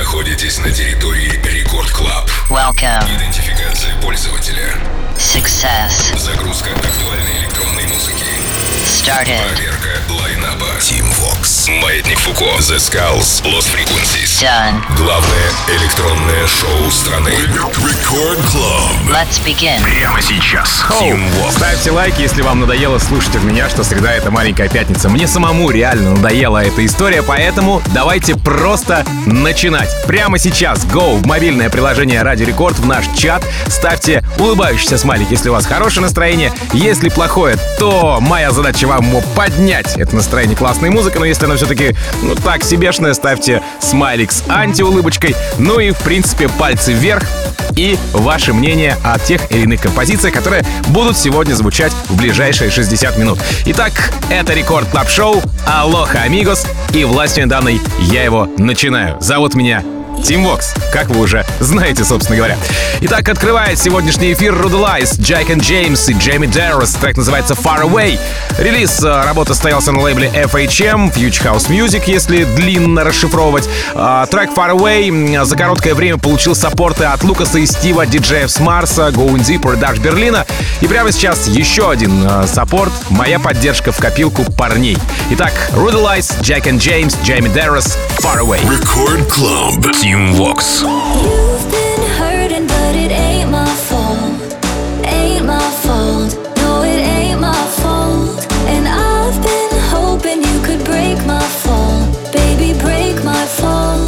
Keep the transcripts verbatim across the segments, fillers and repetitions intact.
находитесь на территории Рекорд Клаб. Welcome. Идентификация пользователя. Success. Загрузка актуальной электронной музыки. Started. Проверка лайнаба. Team Vox. Маятник Фуко. The Skulls. Lost Frequencies. Done. Главное электронное шоу страны. Record Club. Let's begin. Прямо сейчас. Team Vox. Ставьте лайк, если вам надоело слушать от меня, что среда — это маленькая пятница. Мне самому реально надоела эта история, поэтому давайте просто начинать. Прямо сейчас go в мобильное приложение Радио Рекорд, в наш чат. Ставьте улыбающийся смайлик, если у вас хорошее настроение. Если плохое, то моя задача вам поднять это настроение классной музыкой. Но если оно все-таки, ну, так себешное, ставьте смайлик с антиулыбочкой. Ну и, в принципе, пальцы вверх. И ваше мнение о тех или иных композициях, которые будут сегодня звучать в ближайшие шестьдесят минут. Итак, это Рекорд Клаб Шоу. Алоха, амигос. И властью данной я его начинаю. Зовут меня Team Vox, как вы уже знаете, собственно говоря. Итак, открывает сегодняшний эфир Rudelyze, Jack and James и Jamie Darris. Трек называется Far Away. Релиз работы состоялся на лейбле эф эйч эм, Future House Music, если длинно расшифровывать. Трек Far Away за короткое время получил саппорты от Лукаса и Стива, диджеев с Марса, Going Deeper и Даш Берлина. И прямо сейчас еще один саппорт, моя поддержка в копилку парней. Итак, Rudelyze, Jack and James, Jamie Darris, Far Away. Record Club. Team Vox. You've been hurting, but it ain't my fault. Ain't my fault. No, it ain't my fault. And I've been hoping you could break my fall. Baby, break my fall.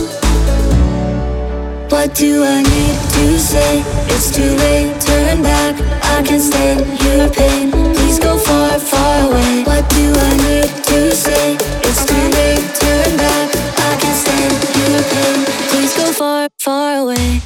What do I need to say? It's too late, turn back. I can't stand your pain. Please go far, far away. What do I need to say? It's too late, turn back. I can't stand your pain. Please go far, far away.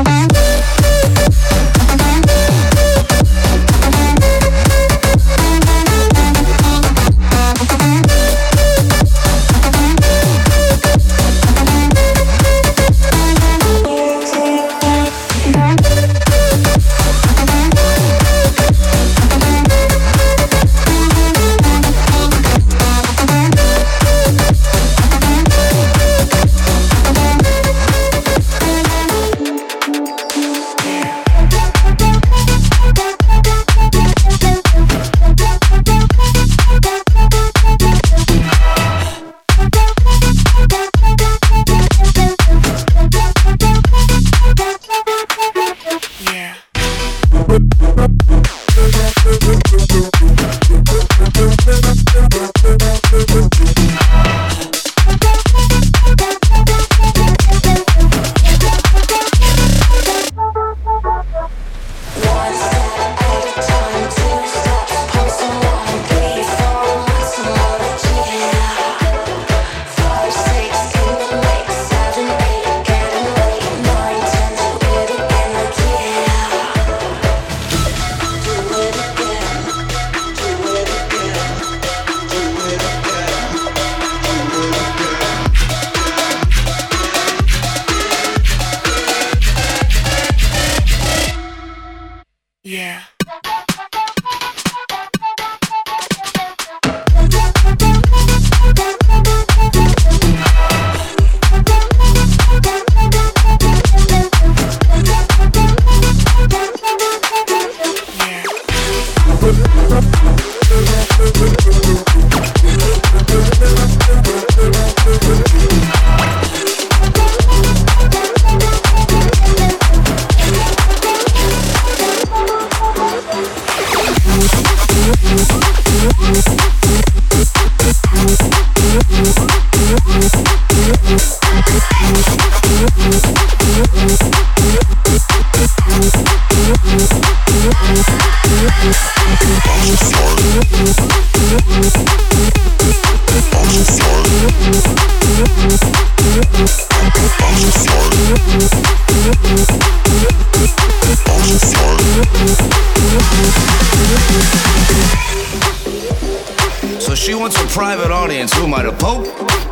So she wants a private audience. Who am I, the Pope?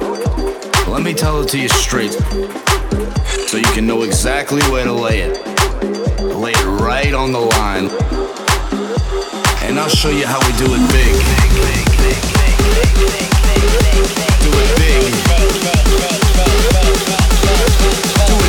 Let me tell it to you straight, so you can know exactly where to lay it. Lay it right on the line, and I'll show you how we do it big. Do it big. Do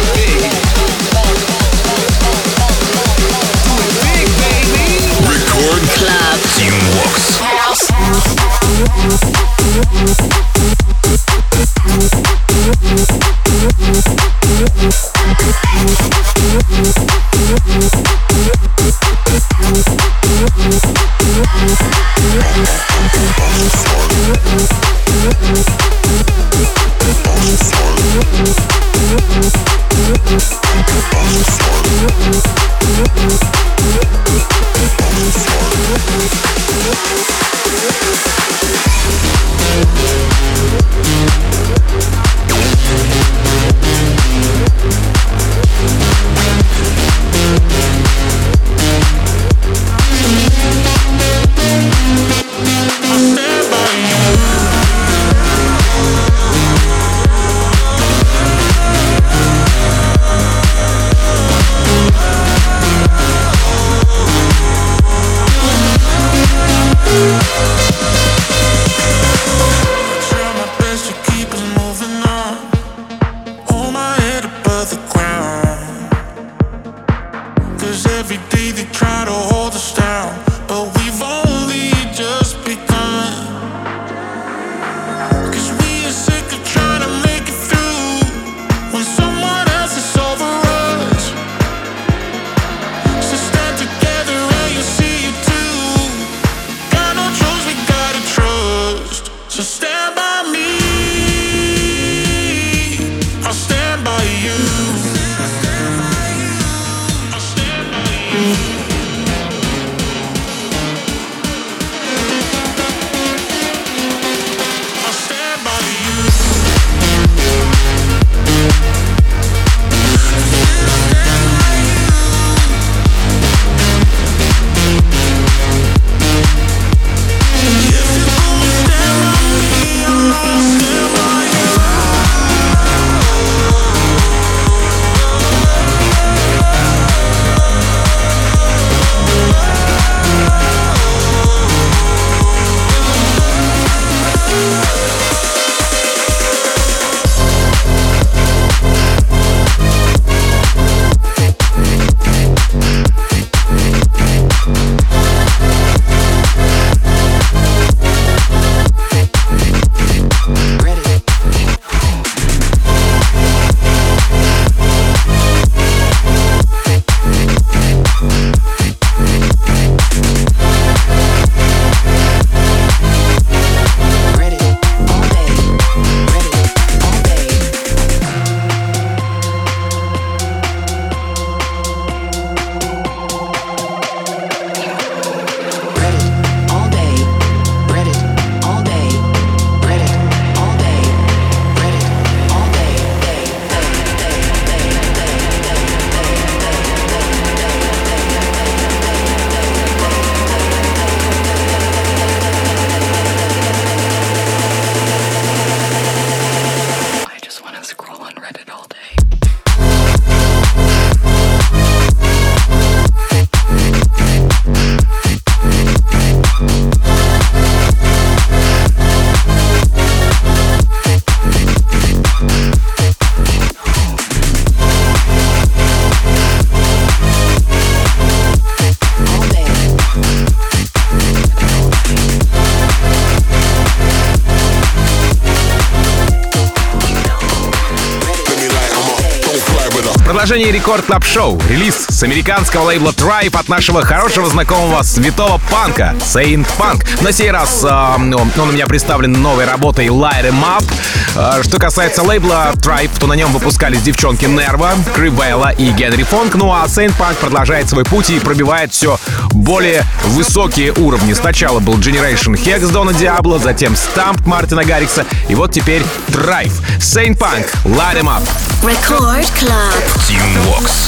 Продолжение Рекорд Клаб Шоу. Релиз с американского лейбла Tribe от нашего хорошего знакомого святого панка Saint Punk. На сей раз э, он у меня представлен новой работой Light Em Up. Э, что касается лейбла Tribe, то на нем выпускались девчонки Nerva, Крибелла и Генри Фонк. Ну а Saint Punk продолжает свой путь и пробивает все более высокие уровни. Сначала был Generation Hex Дона Диабло, затем Stamped Мартина Гаррикса и вот теперь Tribe. Saint Punk, Light Em Up. Record Club. Team Vox.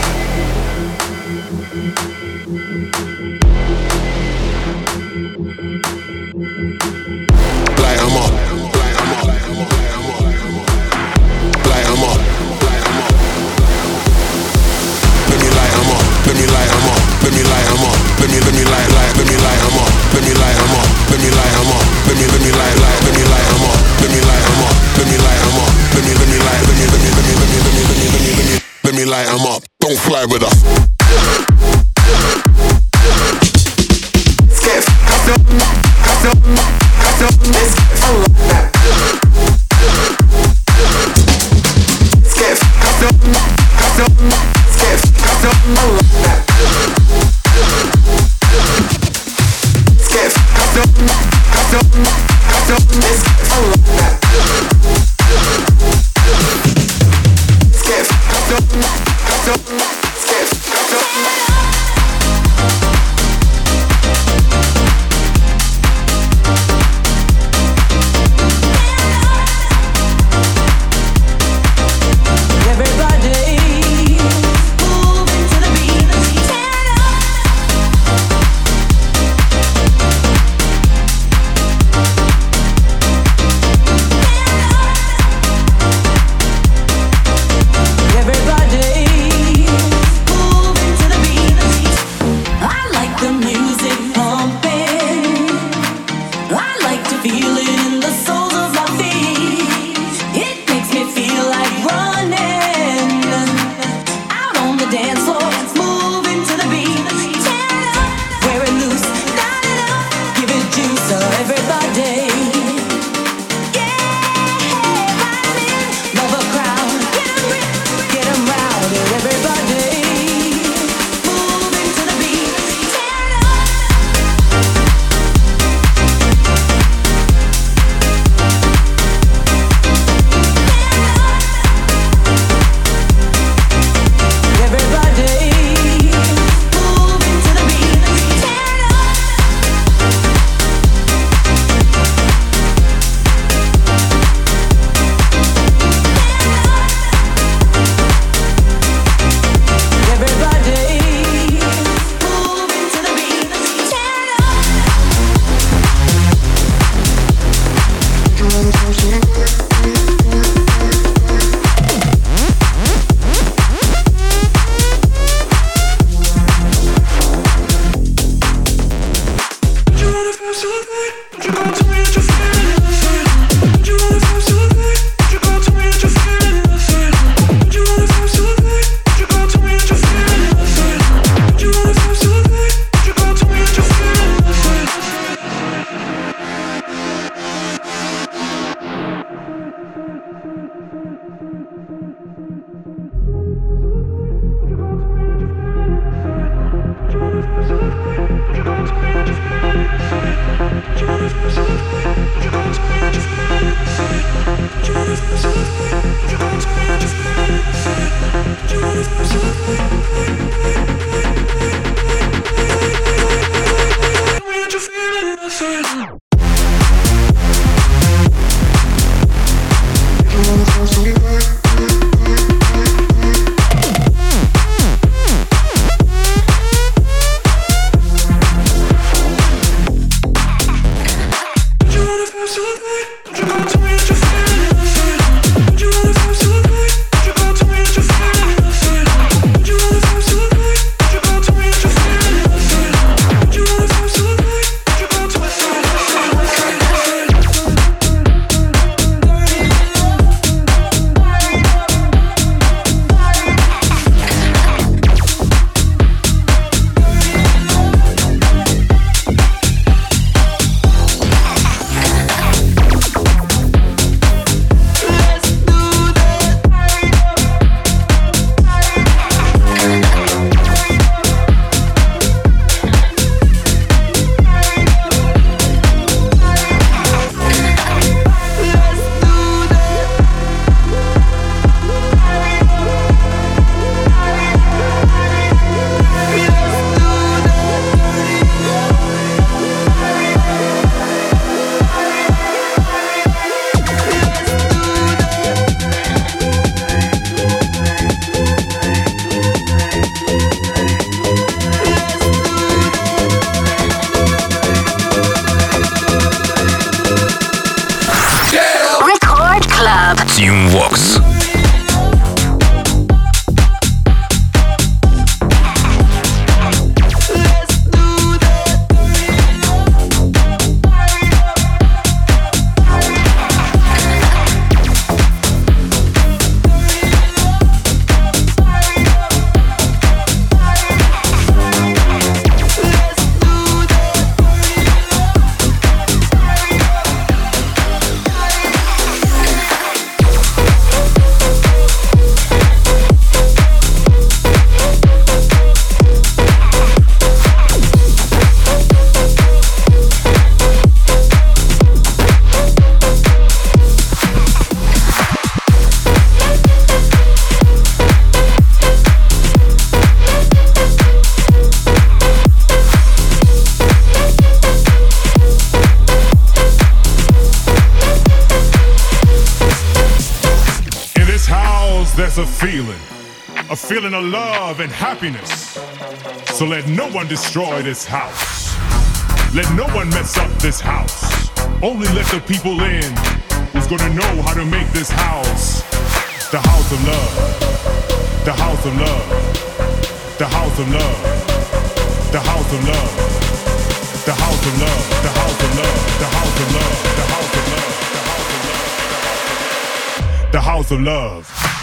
Light 'em up. Light 'em up. Light 'em up. Let me light 'em up. Let me light 'em up. Let me light 'em up. Let me let me light light. Let me light 'em up. Let me light 'em up. Let me light 'em up. Let me let me light light. Let me light 'em up. Let me light 'em up. Let me light 'em up. Let me let me light. Let me let me let me let me let me let me let me let me let me light 'em up. Don't fly with us. Skip. Stop. Stop. Stop. Let's skip. Stop. Stop. Skip. Stop. Skip. Stop. Stop. Stop. Let's possess a feeling, a feeling of love and happiness. So let no one destroy this house. Let no one mess up this house. Only let the people in who's gonna know how to make this house the house of love. The house of love. The house of love. The house of love. The house of love. The house of love. The house of love. The house of love. The house of love.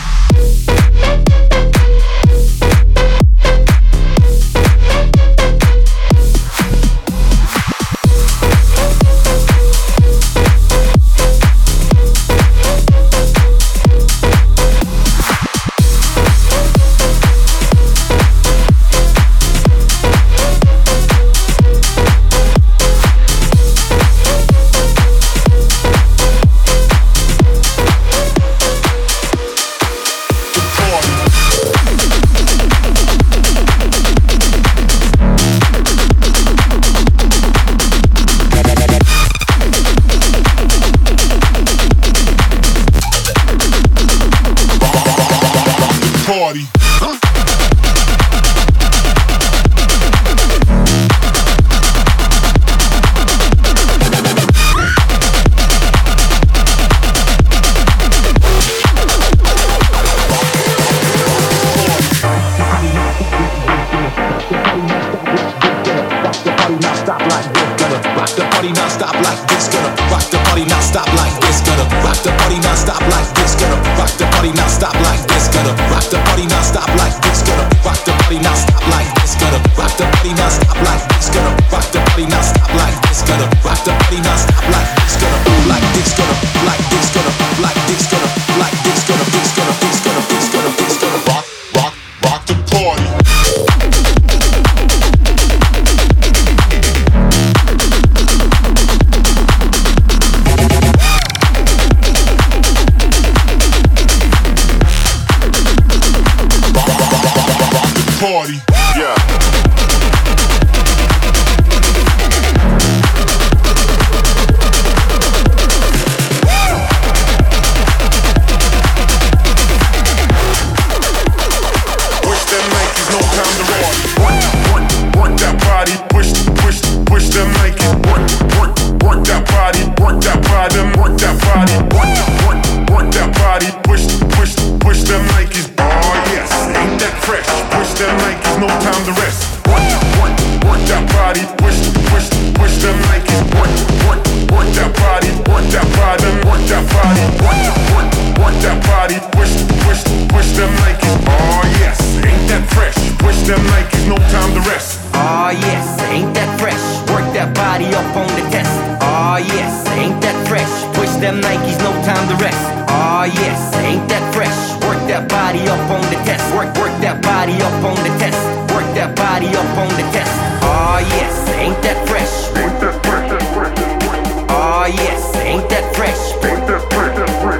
Party. Party. Yeah. Push them Nikes, no time to rest. Work, work, work that body. Push, push, push them Nikes. Work, work, work that body. Work that body. Work that body. Work, work, work that body. Push, push, push them Nikes. Oh yes, ain't that fresh? Push them Nikes, no time to rest. Work, work, work that body. Push, push, push them Nikes. Work, work, work that body. Work that body. Work that body. Work, work, work that body. Push, push, push them Nikes. Oh yes, ain't that fresh? Push them Nikes, no time to rest. Oh yes, ain't that fresh? Work that body up on the test. Oh yes, ain't that fresh? Push them Nikes, no time to rest. Oh yes, ain't that fresh? Work that body up on the test. Work, work that body up on the test. Work that body up on the test. Oh yes, ain't that fresh? Ain't that fresh? Oh yes, ain't that fresh? Ain't that fresh?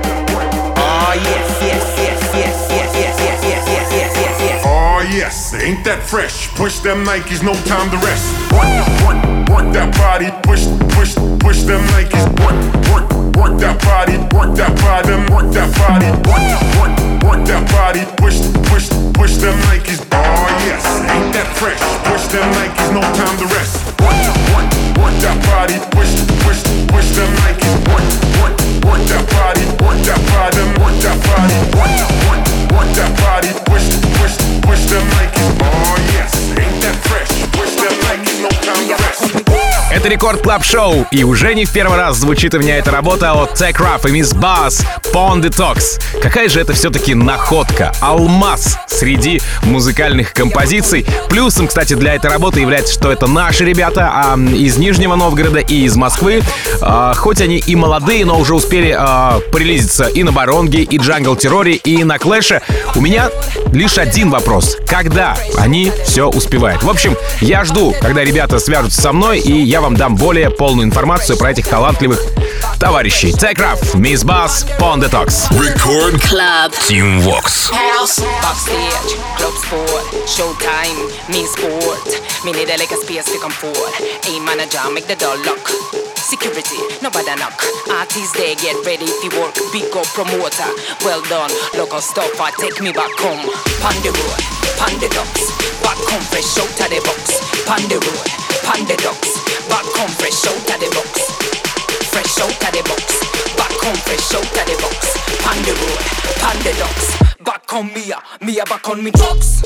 Oh yes, yes, yes, yes, yes, yes, yes, yes, yes, yes, yes, yes. Oh yes, ain't that fresh? Push them Nikes, no time to rest. Work, work, work that body. Push, push, push them Nikes. Work, work, work that body. Work that body. Work that body. Work, work, work that body. Push, push, push them Nikes. Oh yes, ain't that fresh? Push them Nikes, no time to rest. Work, work, work that body. Push, push, push them Nikes. Work, work, work that body. Work that body. Work that body. Work, work, work that body. Push, push, push them Nikes. Oh yes, ain't that fresh? Push them Nikes, no time to rest. Это Рекорд Клаб Шоу, и уже не в первый раз звучит у меня эта работа от Tech Ruff и Miss Bass Pon Detox. Какая же это все-таки находка, алмаз среди музыкальных композиций. Плюсом, кстати, для этой работы является, что это наши ребята а, из Нижнего Новгорода и из Москвы. А, хоть они и молодые, но уже успели а, прилизиться и на Баронге, и Джангл Терроре, и на Клэше. У меня лишь один вопрос. Когда они все успевают? В общем, я жду, когда ребята свяжутся со мной, и я вам дам более полную информацию про этих талантливых товарищей. Tech Ruff, Miss Bass, Pon Detox. Record Club Team Vox. House, backstage, club sport, showtime, mean sport. Me need a like a space to come forward. A manager, make the door lock. security, nobody knock. Artists they get ready if you work, big up promoter. Well done, local stopper, take me back home. Pon the road, pon the docks, back home fresh out of the box. Pon the road, pon the docks, back home fresh out of the box. Fresh out of the box, back home fresh out of the box. Pon the road, pon the docks, back on me, me back on me drugs.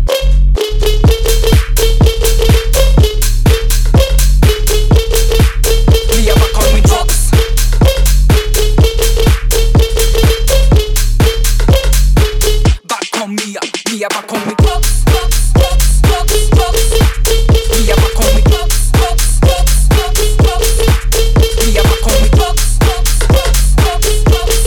Me a back on me drugs. Back on me, me a back on me drugs. Drugs, drugs, drugs, drugs. Me a back on me drugs. Drugs, drugs, drugs, drugs. Me a back on me drugs. Drugs, drugs, drugs, drugs.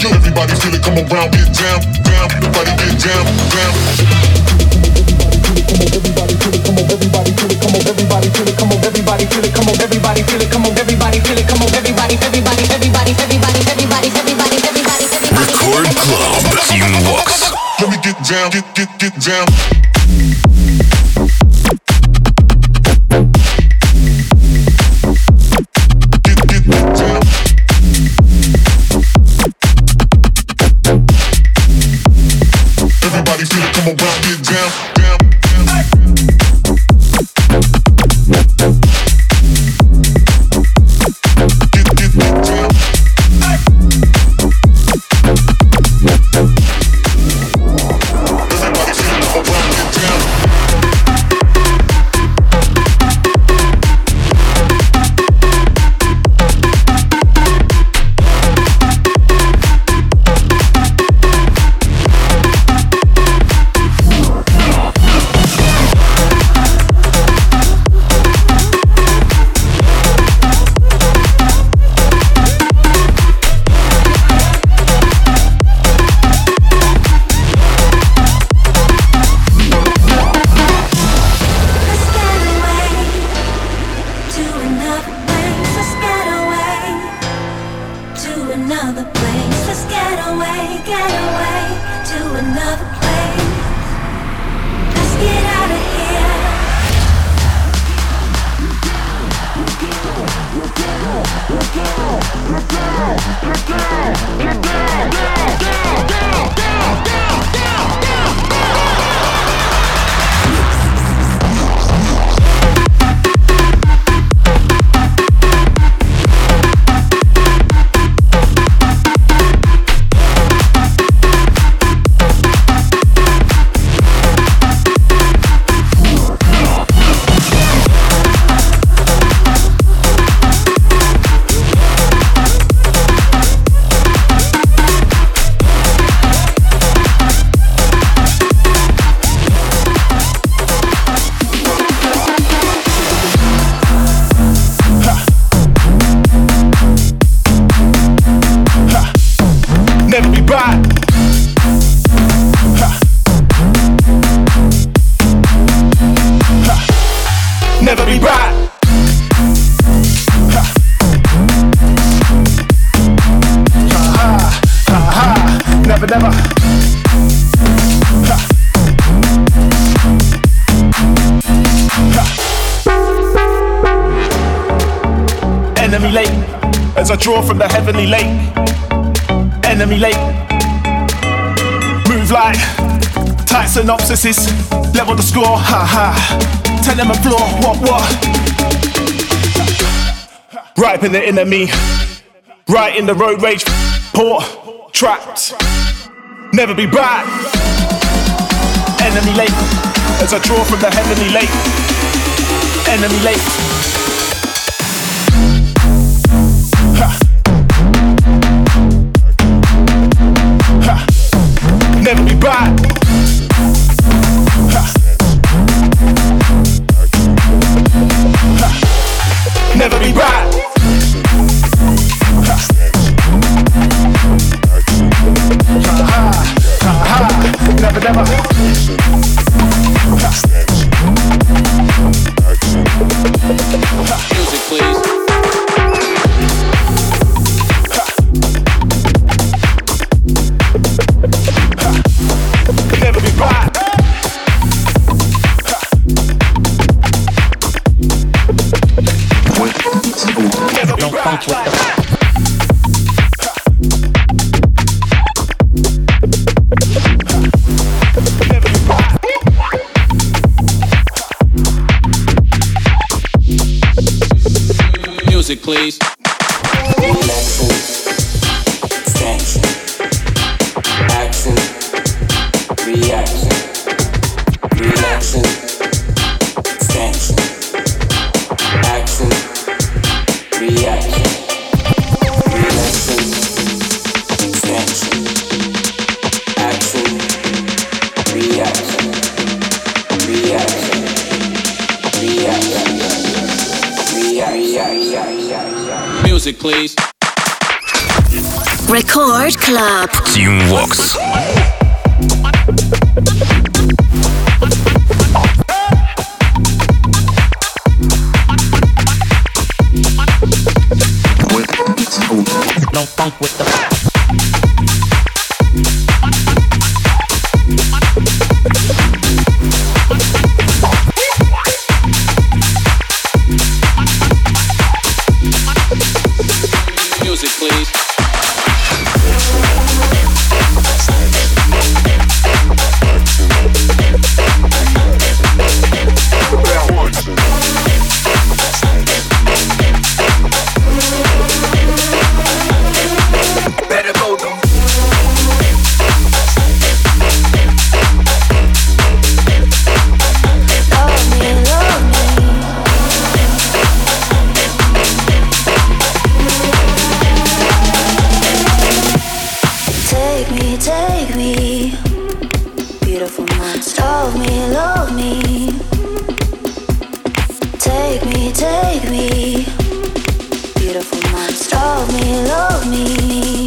Everybody feel it, come around, get down, down. Everybody get down, down. Down, get, get, get down. Everybody feel it, come on, round, get down, down, down. Get, get, get down. Never be right. Ha ha ha, never never. Ha. Ha. Enemy late as I draw from the heavenly lake. Enemy late. Move like tight synopsises. Level the score. Ha ha. Tell them a floor, what, what? Right in the enemy, right in the road rage, port, trapped, never be back. Enemy late, as I draw from the heavenly lake. Enemy late. Ha. Ha. Never be back. Ha. Never be back. Ha ha ha. Never, never. Music, please. Never be back. Don't funk with the music, please. Relaxing, extension, action, reaction, relaxing, extension, action, reaction, relaxing, extension, action, reaction, reaction, reaction, music, please. Record Club. Team Vox. Love me, love me. Take me, take me. Beautiful monster. Love me, love me.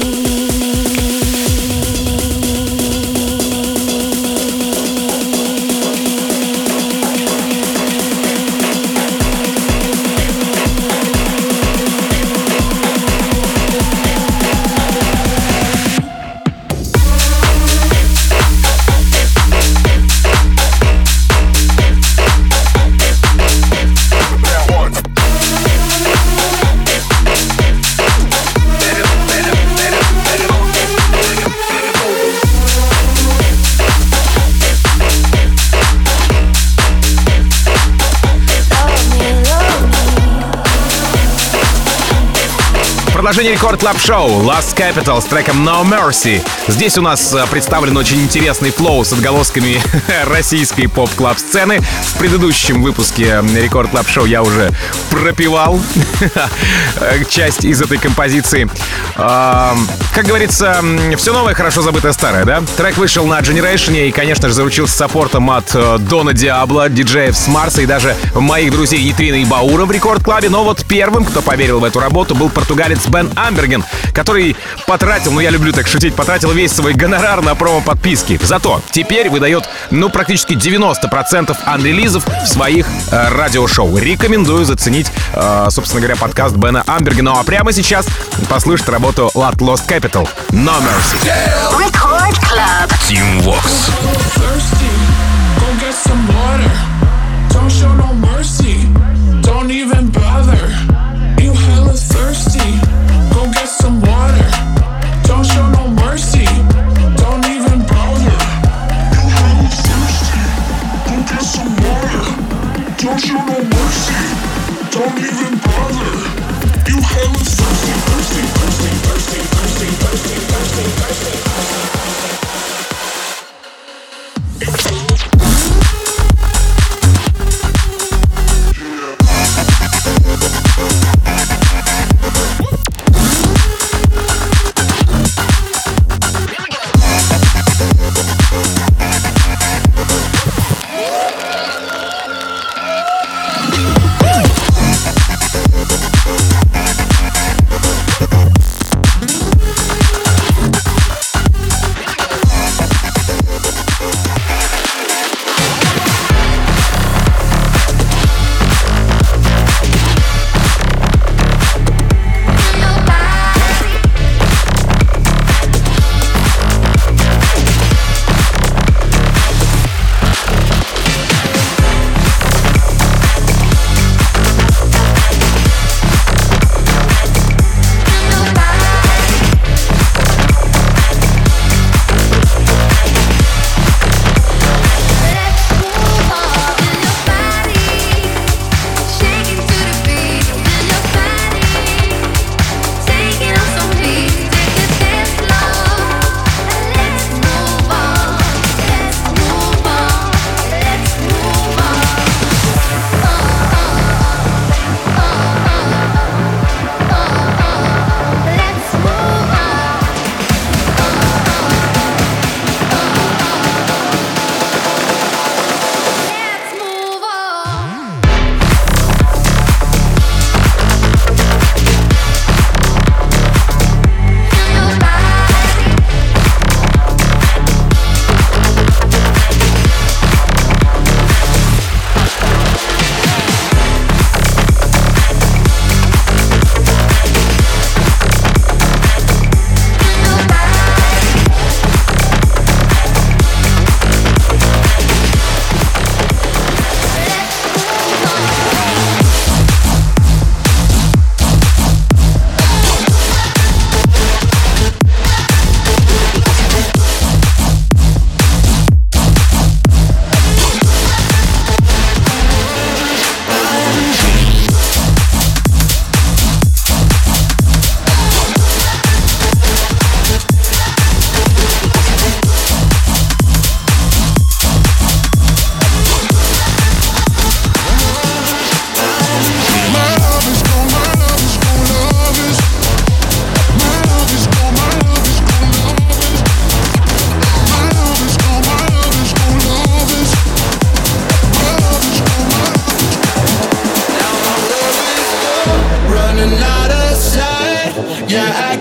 Продолжение Рекорд Клаб Шоу Last Capital с треком No Mercy. Здесь у нас представлен очень интересный флоу с отголосками российской поп-клаб сцены. В предыдущем выпуске Рекорд Клаб Шоу я уже пропевал часть из этой композиции. Как говорится, все новое, хорошо забытое старое, да? Трек вышел на Generation и, конечно же, заручился саппортом от Дона Диабло, диджеев с Марса и даже моих друзей Нитрина и Баура в Рекорд Клабе. Но вот первым, кто поверил в эту работу, был португалец Бен Амберген, который потратил, ну я люблю так шутить, потратил весь свой гонорар на промо-подписки. Зато теперь выдает, ну, практически девяносто процентов анрелизов в своих э, радиошоу. Рекомендую заценить, э, собственно говоря, подкаст Бена Амбергена. Ну а прямо сейчас послушать работу Lost Capital No Mercy. Record Club. Team Vox. Don't show no mercy. Don't even bother. You hella thirsty. Go get some water. Don't show no mercy. Don't even bother. You hella thirsty. Go get some water. Don't show no mercy. Don't even bother. You hella thirsty, thirsty, thirsty, thirsty, thirsty, thirsty, thirsty, thirsty.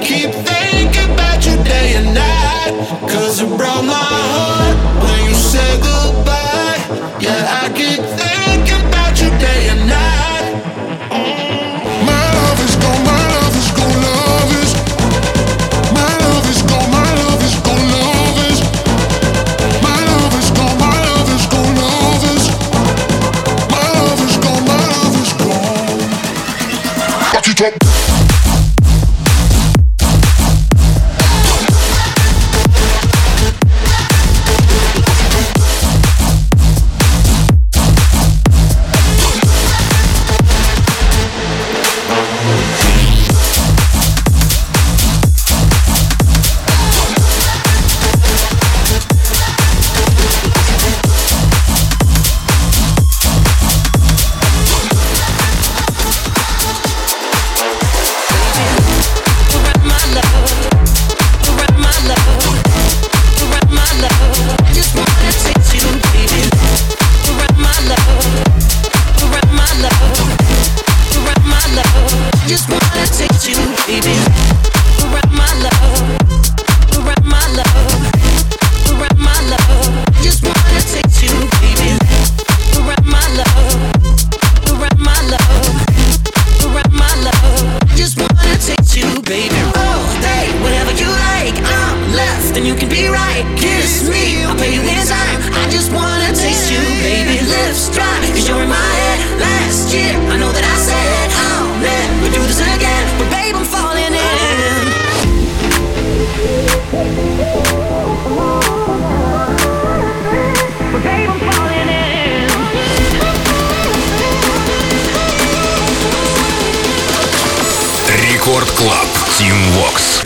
keep thinking about you day and night. Cause it broke my heart when you said goodbye. Yeah, I keep thinking about you day and night. My love is gone, my love is gone, love is. My love is gone, my love is gone, love is. My love is gone, my love is gone, love is. My love is gone, my love is gone. Back it up. Рекорд Клаб, Team Vox.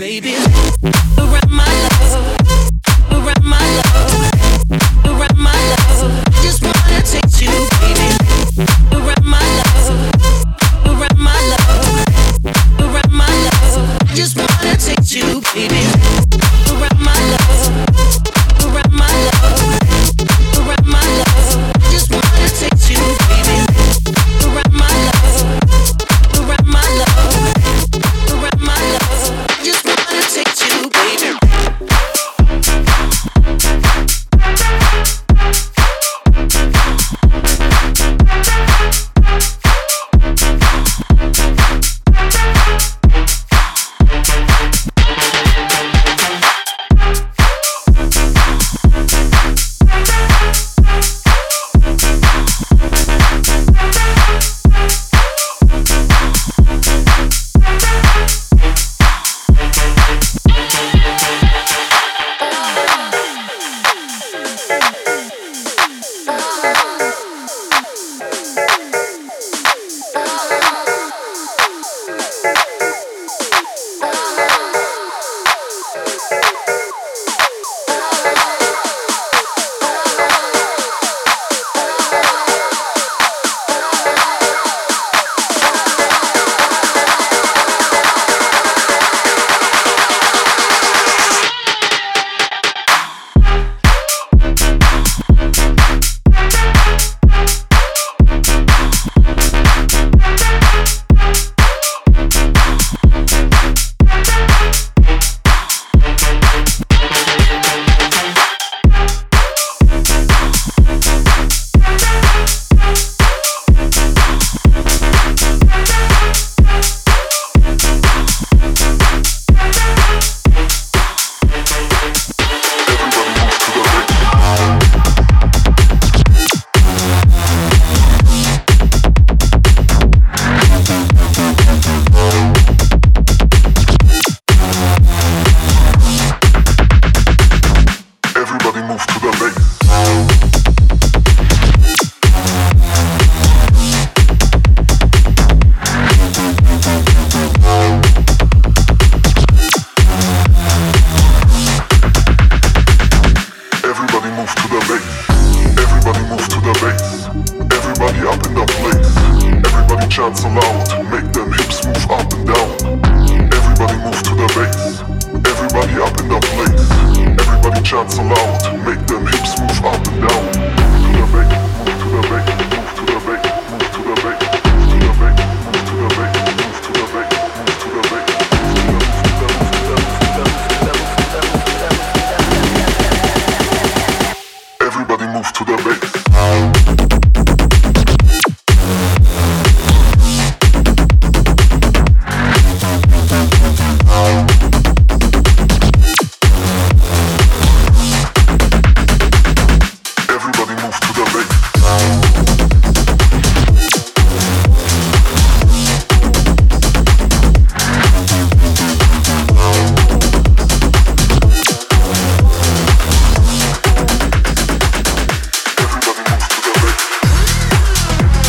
shots aloud, make them hips move up and down. Everybody move to the bass, everybody up in the place. Everybody chants aloud, make them hips move up and down. Move to the bass, move to the bass, move to the bass, move to the bass, move to the bass, move to the bass, move to the bass, move to the bass, move to the bass.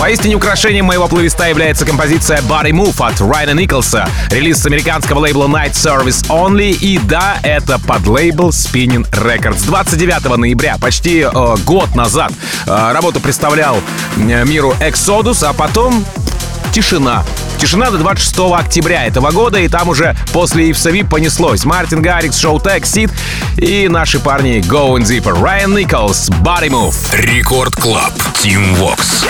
Поистине украшением моего плейлиста является композиция Body Move от Райана Николса, релиз с американского лейбла Night Service Only, и да, это под лейбл Spinning Records. двадцать девятого ноября, почти э, год назад, э, работу представлял э, миру Exodus, а потом тишина. Тишина до двадцать шестого октября этого года, и там уже после Ивса Вип понеслось. Мартин Гаррикс, Шоу Тек, Сид и наши парни Going Deeper. Райан Николс, Body Move. Рекорд Клаб, Team Vox.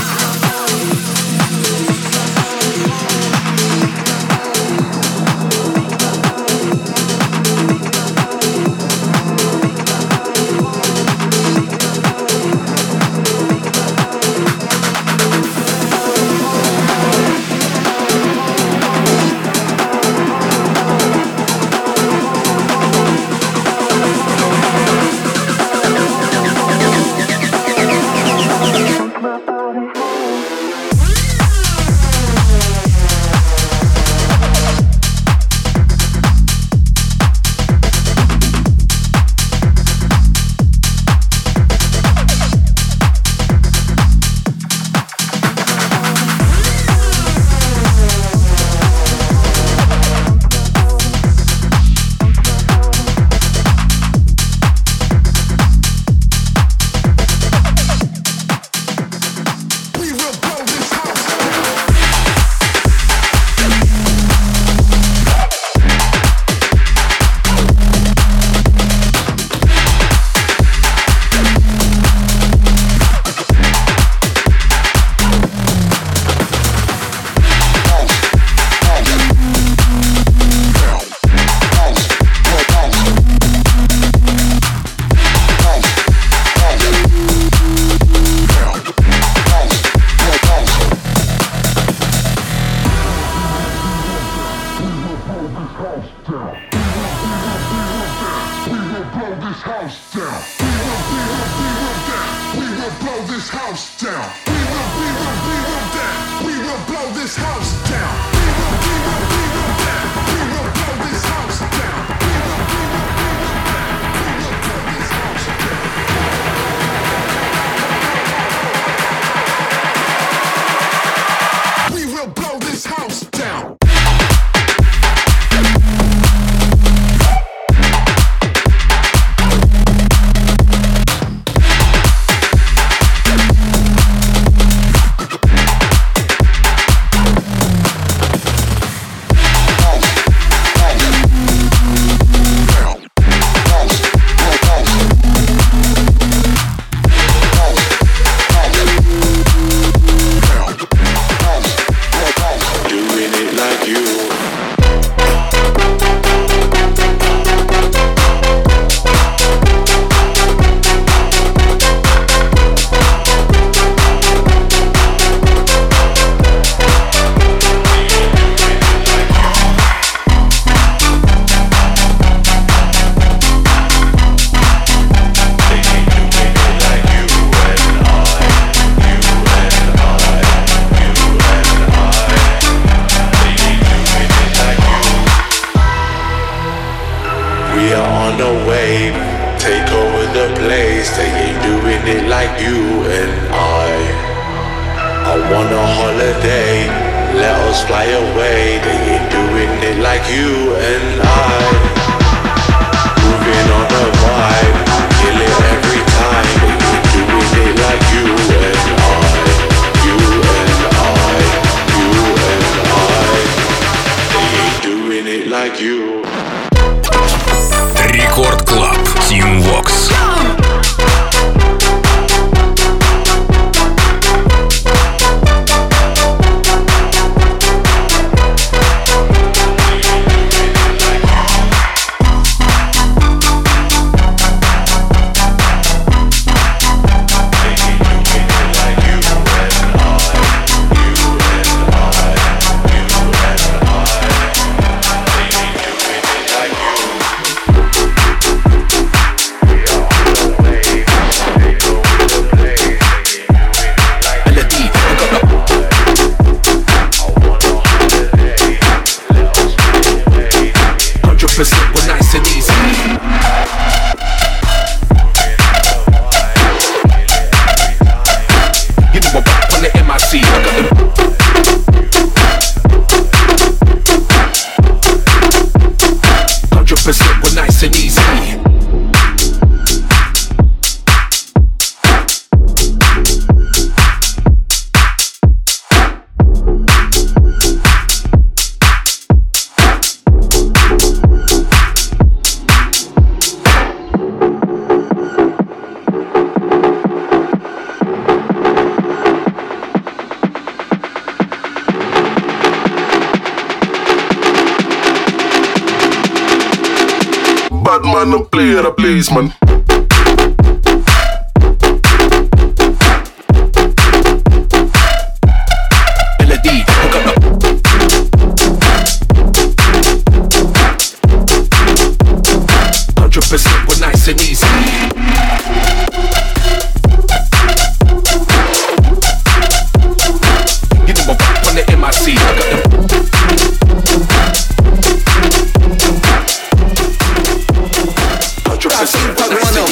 Рекорд Клаб, Team Vox. C. I got them. Hundred percent, we're nice and easy. Bad man, no play the place, man. Melody, hook up. Hundred percent, we're nice and easy. You know my rap on the M I C. I got them. I think I wanna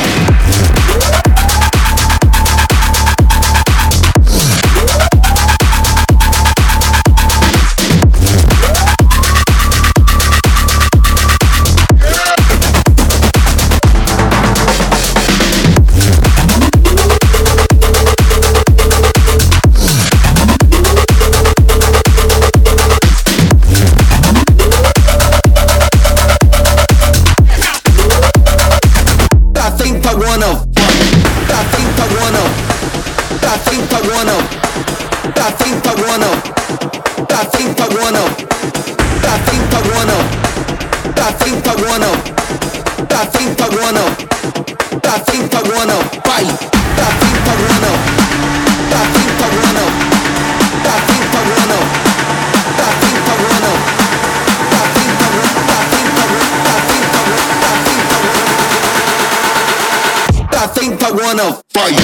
fight.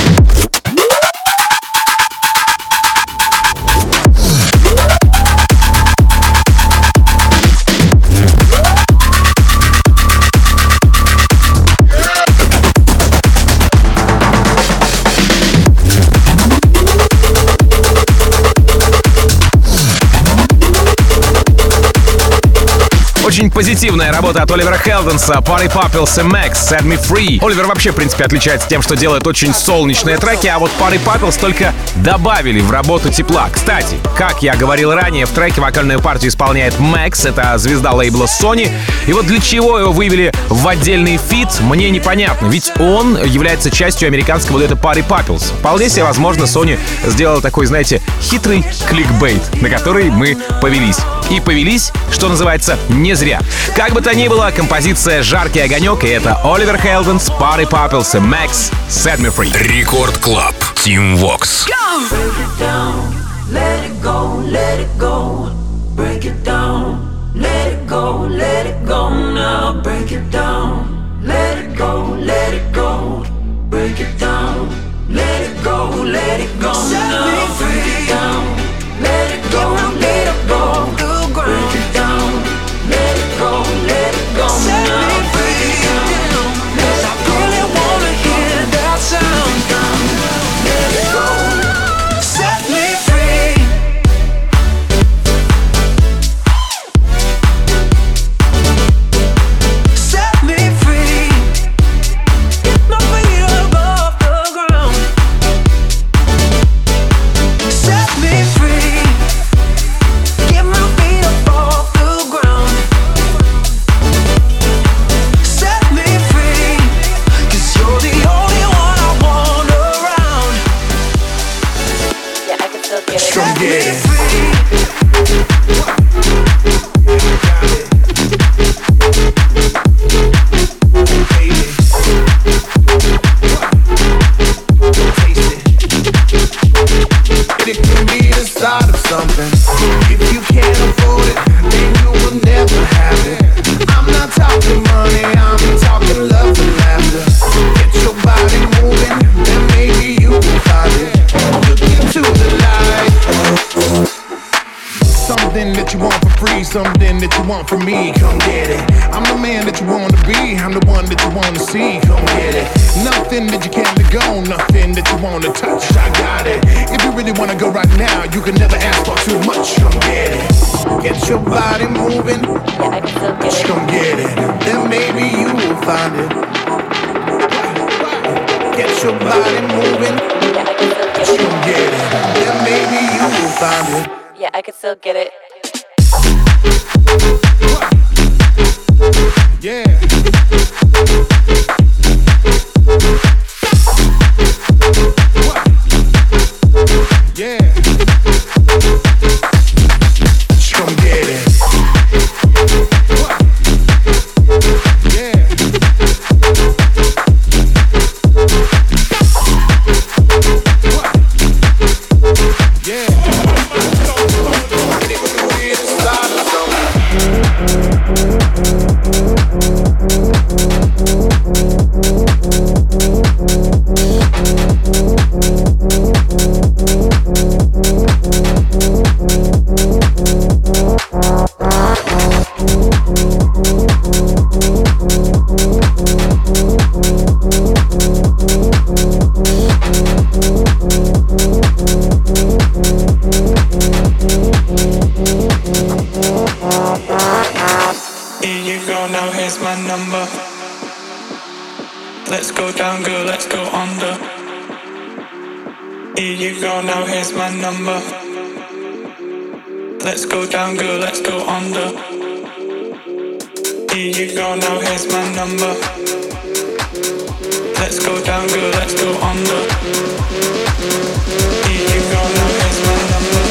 Очень позитивная работа от Оливера Хелденса, Party Popils и Max, Set Me Free. Оливер вообще, в принципе, отличается тем, что делает очень солнечные треки, а вот Party Popils только добавили в работу тепла. Кстати, как я говорил ранее, в треке вокальную партию исполняет Max, это звезда лейбла Sony. И вот для чего его вывели в отдельный фит, мне непонятно, ведь он является частью американского дуэта Party Popils. Вполне себе возможно, Sony сделала такой, знаете, хитрый кликбейт, на который мы повелись. И повелись, что называется, не зря. Как бы то ни было, композиция «Жаркий огонек», и это Оливер Хелденс, Party Popils и Max, Set Me Free. Рекорд Клаб, Team Vox. Let it go, let it go, break it down. Let it go, let it go now, break it down. Let it go, let it go, break it down. Let it go, let it go now, break it down. Let it go, let it go, break it down. Let it go, let it go now, break it down. Cause I really wanna hear that sound. Let it go, set me free. Set me free. Get my feet above the ground. Set me free. Get my feet above the ground. Set me free. Cause you're the only one I want around. Yeah, I can still get it. Come get it. It can be the start of something. If you can't afford it, then you will never have it. I'm not talking money, I'm talking love and laughter. Get your body moving, then maybe you will find it. Look into the light. Something that you want for free, something that you want from me. Come get it. I'm the man that you want to be, I'm the one that you want to see. Come get it. Nothing that you can't let go, nothing that you wanna touch. I got it. If you really wanna go right now, you can never ask for too much. Come get it. Get your body moving. Just come get it. Then maybe you will find it. Get your body moving. Just come get it. Then maybe you will find it. Yeah, I can still get it. Yeah. Yeah. Just come get it. Yeah. Yeah. Let's go down, girl, let's go under. Here you go, now here's my number. Let's go down, girl, let's go under. Here you go, now here's my number. Let's go down, girl, let's go under. Here you go, now here's my number.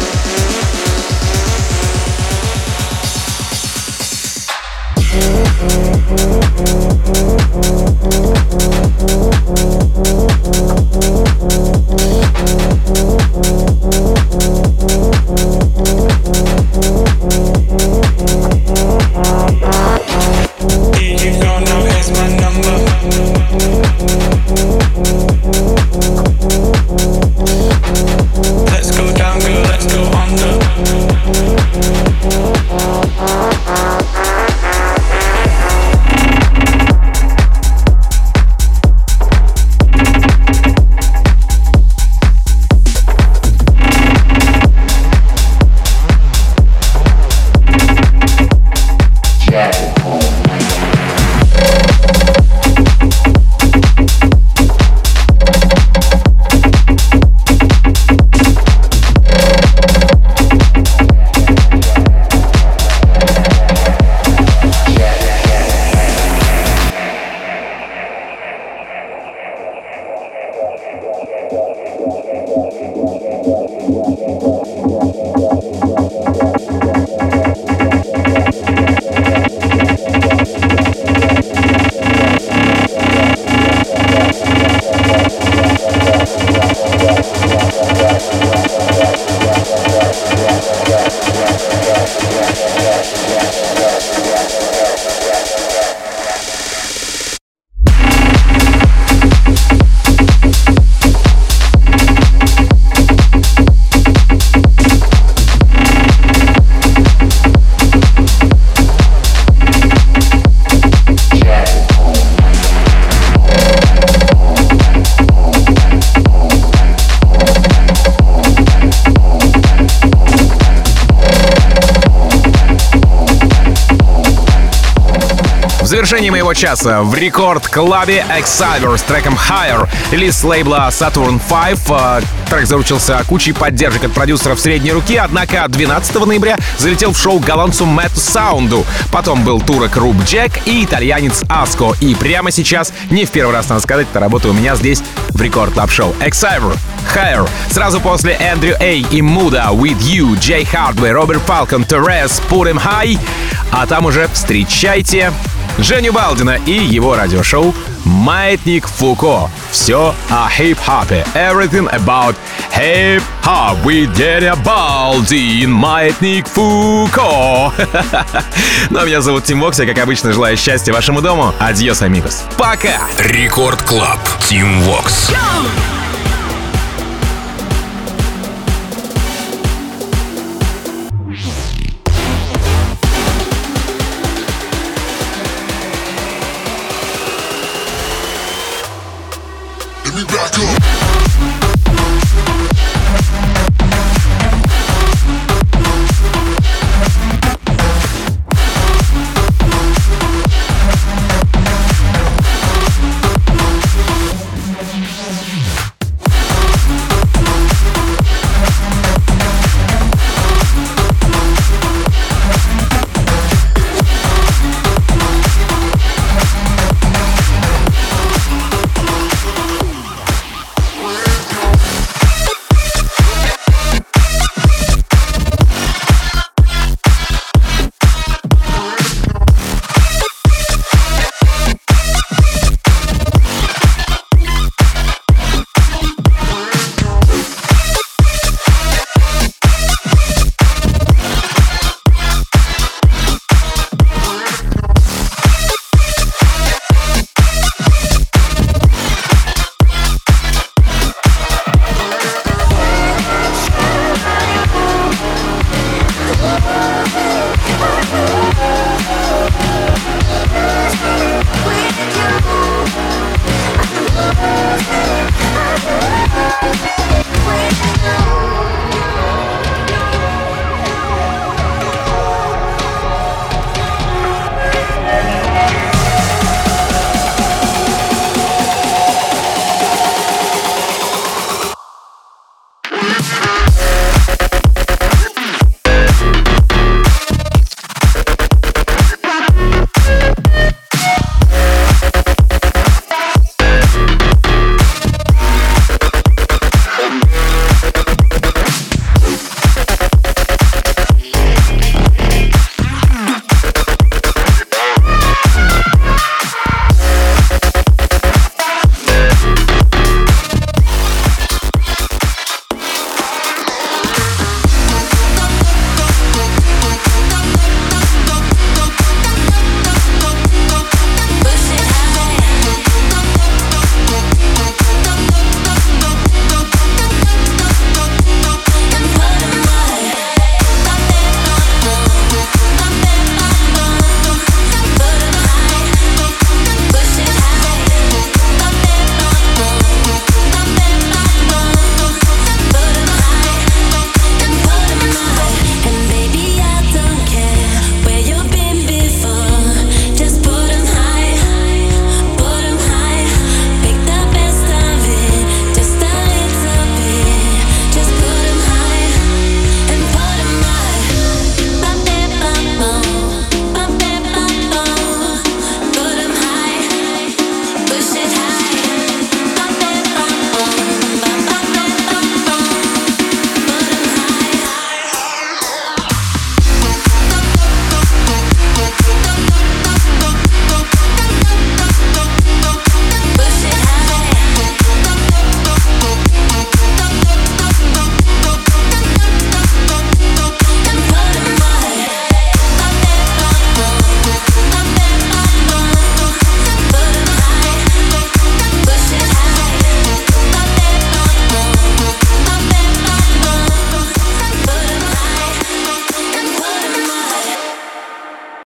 В завершении моего часа в рекорд-клабе Exciter с треком Higher, релиз с лейбла Saturn пять. Трек заручился кучей поддержек от продюсеров средней руки, однако двенадцатого ноября залетел в шоу голландцу Мэтту Саунду. Потом был турок Руб Джек и итальянец Аско. И прямо сейчас, не в первый раз, надо сказать, эта работа у меня здесь в рекорд-клаб-шоу. Exciter, Higher. Сразу после Эндрю Эй и Муда, With You, Джей Хардвей, Роберт Фалкон, Терес, Put Him High. А там уже встречайте Женю Балдина и его радиошоу «Маятник Фуко». Все о хип-хопе. Everything about hip-hop with Женя Балдин. «Маятник Фуко». Ну, а меня зовут Тим Вокс. Я, как обычно, желаю счастья вашему дому. Адьос, амигос. Пока! Рекорд Клаб. Тим Вокс. me back up.